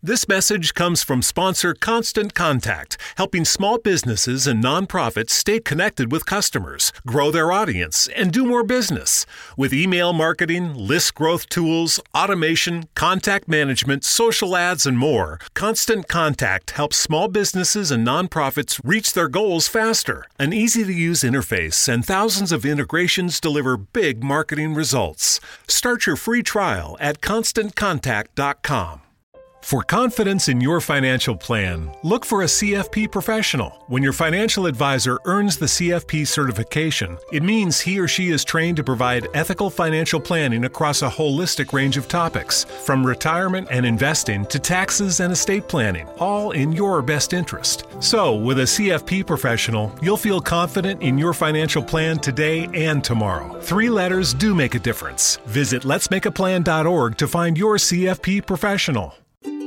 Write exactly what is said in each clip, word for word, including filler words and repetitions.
This message comes from sponsor Constant Contact, helping small businesses and nonprofits stay connected with customers, grow their audience, and do more business. With email marketing, list growth tools, automation, contact management, social ads, and more, Constant Contact helps small businesses and nonprofits reach their goals faster. An easy-to-use interface and thousands of integrations deliver big marketing results. Start your free trial at constant contact dot com. For confidence in your financial plan, look for a C F P professional. When your financial advisor earns the C F P certification, it means he or she is trained to provide ethical financial planning across a holistic range of topics, from retirement and investing to taxes and estate planning, all in your best interest. So, with a C F P professional, you'll feel confident in your financial plan today and tomorrow. Three letters do make a difference. Visit lets make a plan dot org to find your C F P professional.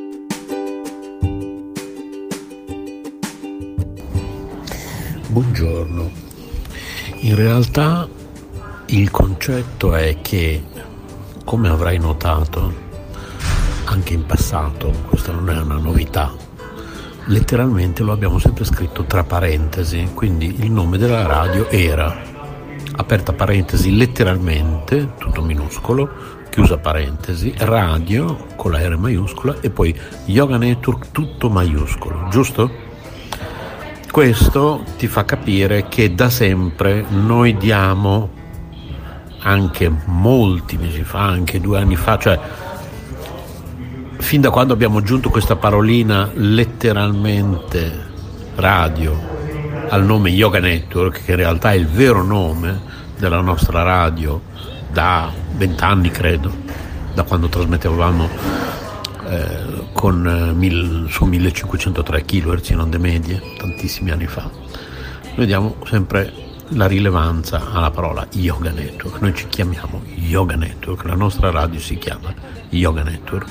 Buongiorno. In realtà il concetto è che, come avrai notato anche in passato, questa non è una novità, letteralmente lo abbiamo sempre scritto tra parentesi, quindi il nome della radio era, aperta parentesi, letteralmente, tutto minuscolo, chiusa parentesi, radio con la R maiuscola e poi Yoga Network tutto maiuscolo, giusto? Questo ti fa capire che da sempre noi diamo, anche molti mesi fa, anche due anni fa, cioè fin da quando abbiamo aggiunto questa parolina letteralmente radio al nome Yoga Network, che in realtà è il vero nome della nostra radio da vent'anni credo, da quando trasmettevamo eh, con eh, mil, su millecinquecentotre chilohertz in onde medie tantissimi anni fa. Noi diamo sempre la rilevanza alla parola Yoga Network. Noi ci chiamiamo Yoga Network, la nostra radio si chiama Yoga Network.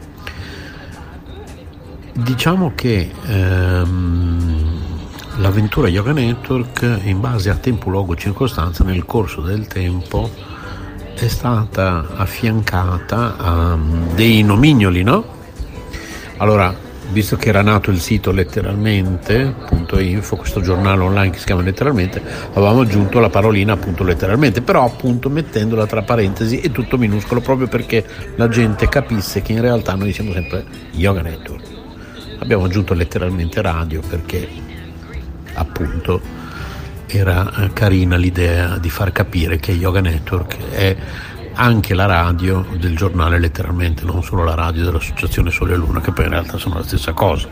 Diciamo che ehm, l'avventura Yoga Network, in base a tempo, luogo, circostanza, nel corso del tempo è stata affiancata a dei nomignoli, no? Allora, visto che era nato il sito letteralmente punto info, questo giornale online che si chiama Letteralmente, avevamo aggiunto la parolina appunto letteralmente, però appunto mettendola tra parentesi e tutto minuscolo, proprio perché la gente capisse che in realtà noi siamo sempre Yoga Network. Abbiamo aggiunto letteralmente radio perché appunto era carina l'idea di far capire che Yoga Network è anche la radio del giornale Letteralmente, non solo la radio dell'associazione Sole e Luna, che poi in realtà sono la stessa cosa.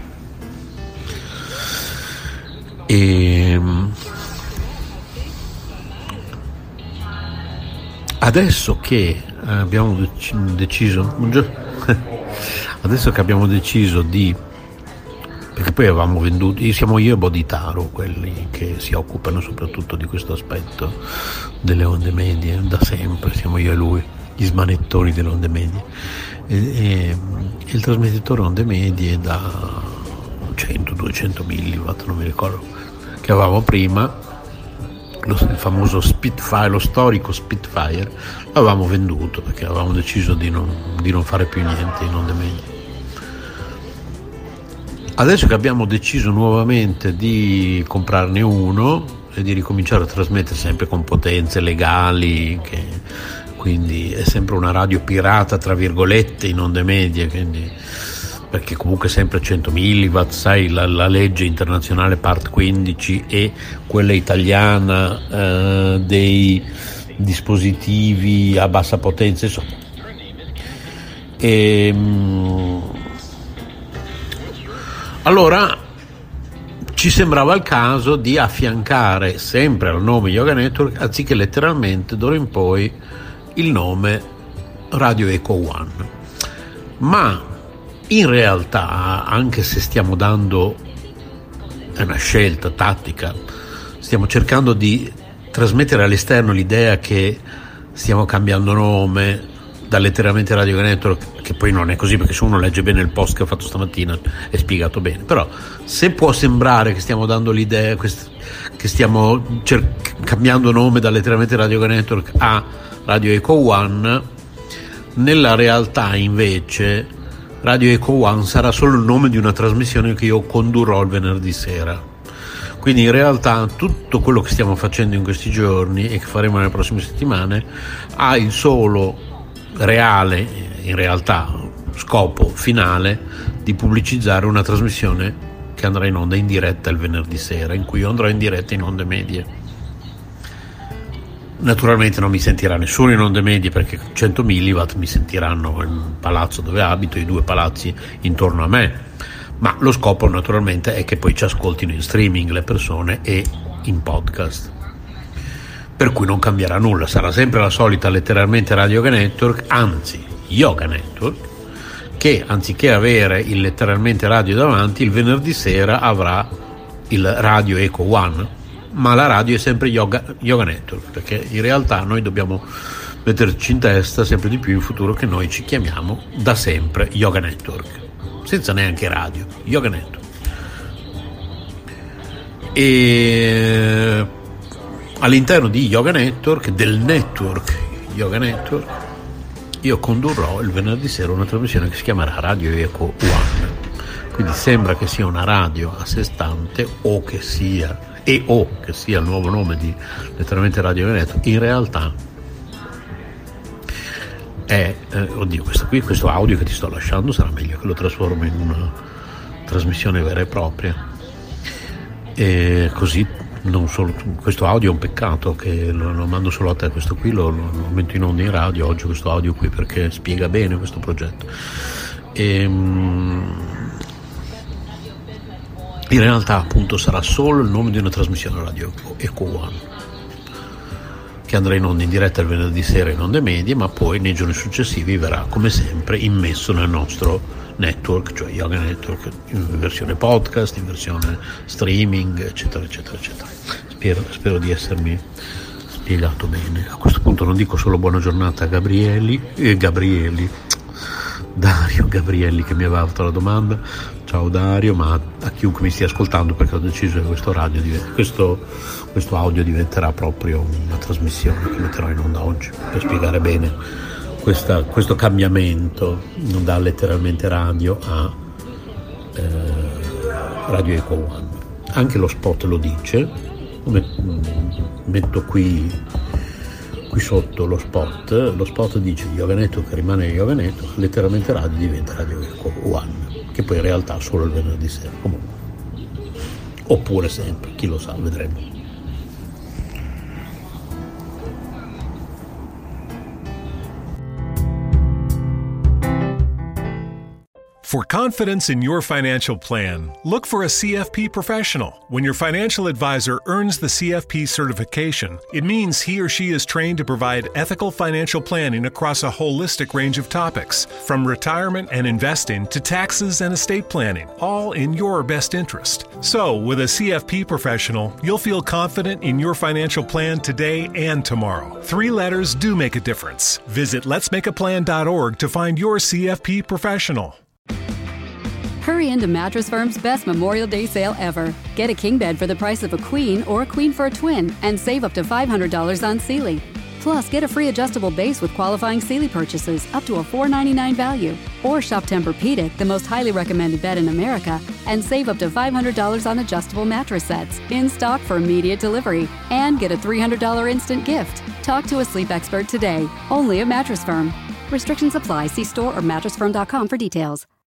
E adesso che abbiamo deciso adesso che abbiamo deciso di, perché poi avevamo venduto, siamo io e Bodhitaro quelli che si occupano soprattutto di questo aspetto delle onde medie da sempre, siamo io e lui gli smanettoni delle onde medie, e, e, e il trasmettitore onde medie da cento duecento milliwatt, non mi ricordo, che avevamo prima, lo, il famoso Spitfire, lo storico Spitfire, l'avevamo venduto perché avevamo deciso di non, di non fare più niente in onde medie. Adesso che abbiamo deciso nuovamente di comprarne uno e di ricominciare a trasmettere sempre con potenze legali, che quindi è sempre una radio pirata tra virgolette in onde medie, quindi, perché comunque sempre cento milliwatt, sai, la, la legge internazionale part quindici e quella italiana eh, dei dispositivi a bassa potenza, insomma. E, allora ci sembrava il caso di affiancare sempre al nome Yoga Network, anziché letteralmente d'ora in poi il nome Radio Eco One. Ma in realtà, anche se stiamo dando, è una scelta tattica, stiamo cercando di trasmettere all'esterno l'idea che stiamo cambiando nome da letteralmente Radio Network, che poi non è così, perché se uno legge bene il post che ho fatto stamattina è spiegato bene, però se può sembrare che stiamo dando l'idea che stiamo cer- cambiando nome da letteralmente Radio Network a Radio Eco One, nella realtà invece Radio Eco One sarà solo il nome di una trasmissione che io condurrò il venerdì sera. Quindi in realtà tutto quello che stiamo facendo in questi giorni e che faremo nelle prossime settimane ha il solo reale, in realtà scopo finale, di pubblicizzare una trasmissione che andrà in onda in diretta il venerdì sera, in cui io andrò in diretta in onde medie. Naturalmente non mi sentirà nessuno in onde medie, perché cento milliwatt mi sentiranno nel palazzo dove abito, i due palazzi intorno a me, ma lo scopo naturalmente è che poi ci ascoltino in streaming le persone e in podcast, per cui non cambierà nulla, sarà sempre la solita letteralmente Radio Yoga Network, anzi Yoga Network, che anziché avere il letteralmente radio davanti, il venerdì sera avrà il Radio Eco One, ma la radio è sempre Yoga, Yoga Network, perché in realtà noi dobbiamo metterci in testa sempre di più in futuro che noi ci chiamiamo da sempre Yoga Network, senza neanche radio, Yoga Network. E all'interno di Yoga Network, del network Yoga Network, io condurrò il venerdì sera una trasmissione che si chiamerà Radio Eco One, quindi sembra che sia una radio a sé stante, o che sia e o che sia il nuovo nome di letteralmente Radio Veneto. In realtà è eh, oddio questo qui questo audio che ti sto lasciando sarà meglio che lo trasformo in una trasmissione vera e propria, e così non solo questo audio è un peccato che lo, lo mando solo a te, questo qui lo, lo, lo metto in onda in radio oggi, questo audio qui, perché spiega bene questo progetto. E, in realtà appunto sarà solo il nome di una trasmissione Radio Eco One, che andrà in onda in diretta il venerdì sera in onde medie, ma poi nei giorni successivi verrà come sempre immesso nel nostro network, cioè Yoga Network, in versione podcast, in versione streaming, eccetera eccetera eccetera. Spero, spero di essermi spiegato bene. A questo punto non dico solo buona giornata a Gabrieli e Gabrieli Dario Gabrielli, che mi aveva fatto la domanda. Ciao Dario, ma a chiunque mi stia ascoltando, perché ho deciso che questo, radio, questo, questo audio diventerà proprio una trasmissione che metterò in onda oggi, per spiegare bene questa, questo cambiamento da letteralmente radio a eh, Radio Eco One. Anche lo spot lo dice, metto qui qui sotto lo spot, lo spot dice Yoga Network rimane Yoga Network, letteralmente radio diventa Radio Eco One, che poi in realtà solo il venerdì sera, comunque, oppure sempre, chi lo sa, vedremo. For confidence in your financial plan, look for a C F P professional. When your financial advisor earns the C F P certification, it means he or she is trained to provide ethical financial planning across a holistic range of topics, from retirement and investing to taxes and estate planning, all in your best interest. So, with a C F P professional, you'll feel confident in your financial plan today and tomorrow. Three letters do make a difference. Visit lets make a plan dot org to find your C F P professional. Hurry into Mattress Firm's best Memorial Day sale ever. Get a king bed for the price of a queen or a queen for a twin and save up to five hundred dollars on Sealy. Plus, get a free adjustable base with qualifying Sealy purchases up to a four ninety-nine value. Or shop Tempur-Pedic, the most highly recommended bed in America, and save up to five hundred dollars on adjustable mattress sets in stock for immediate delivery. And get a three hundred dollars instant gift. Talk to a sleep expert today, only at Mattress Firm. Restrictions apply. See store or mattress firm dot com for details.